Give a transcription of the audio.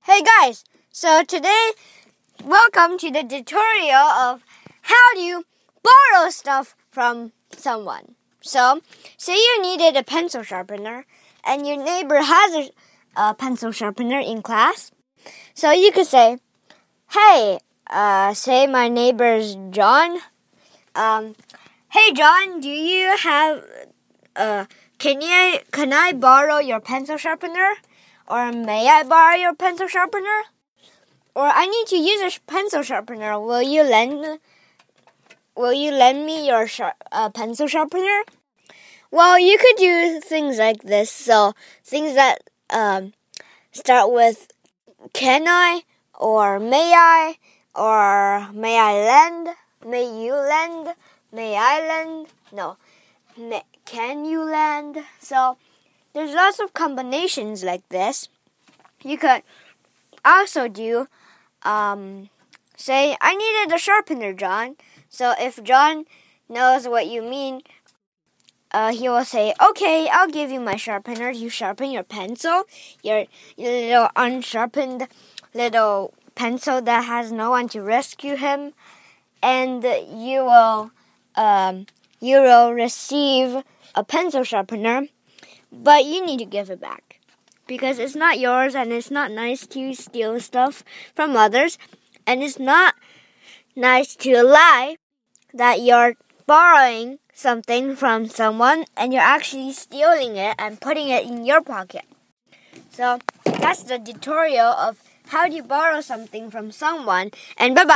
Hey guys, so today, welcome to the tutorial of how do you borrow stuff from someone. So, say you needed a pencil sharpener and your neighbor has a pencil sharpener in class. So you could say, hey, say my neighbor's John. Hey John, do you have, can I borrow your pencil sharpener? Or may I borrow your pencil sharpener? Or I need to use a pencil sharpener. Will you lend me your pencil sharpener? Well, you could do things like this. So things that start with can I, or may I lend, may you lend, may I lend, no, can you lend? So there's lots of combinations like this. You could also do, say, I needed a sharpener, John. So if John knows what you mean, he will say, okay, I'll give you my sharpener. You sharpen your pencil, your little unsharpened little pencil that has no one to rescue him, and you will receive a pencil sharpener. But you need to give it back because it's not yours and it's not nice to steal stuff from others. And it's not nice to lie that you're borrowing something from someone and you're actually stealing it and putting it in your pocket. So that's the tutorial of how do you borrow something from someone. And bye-bye.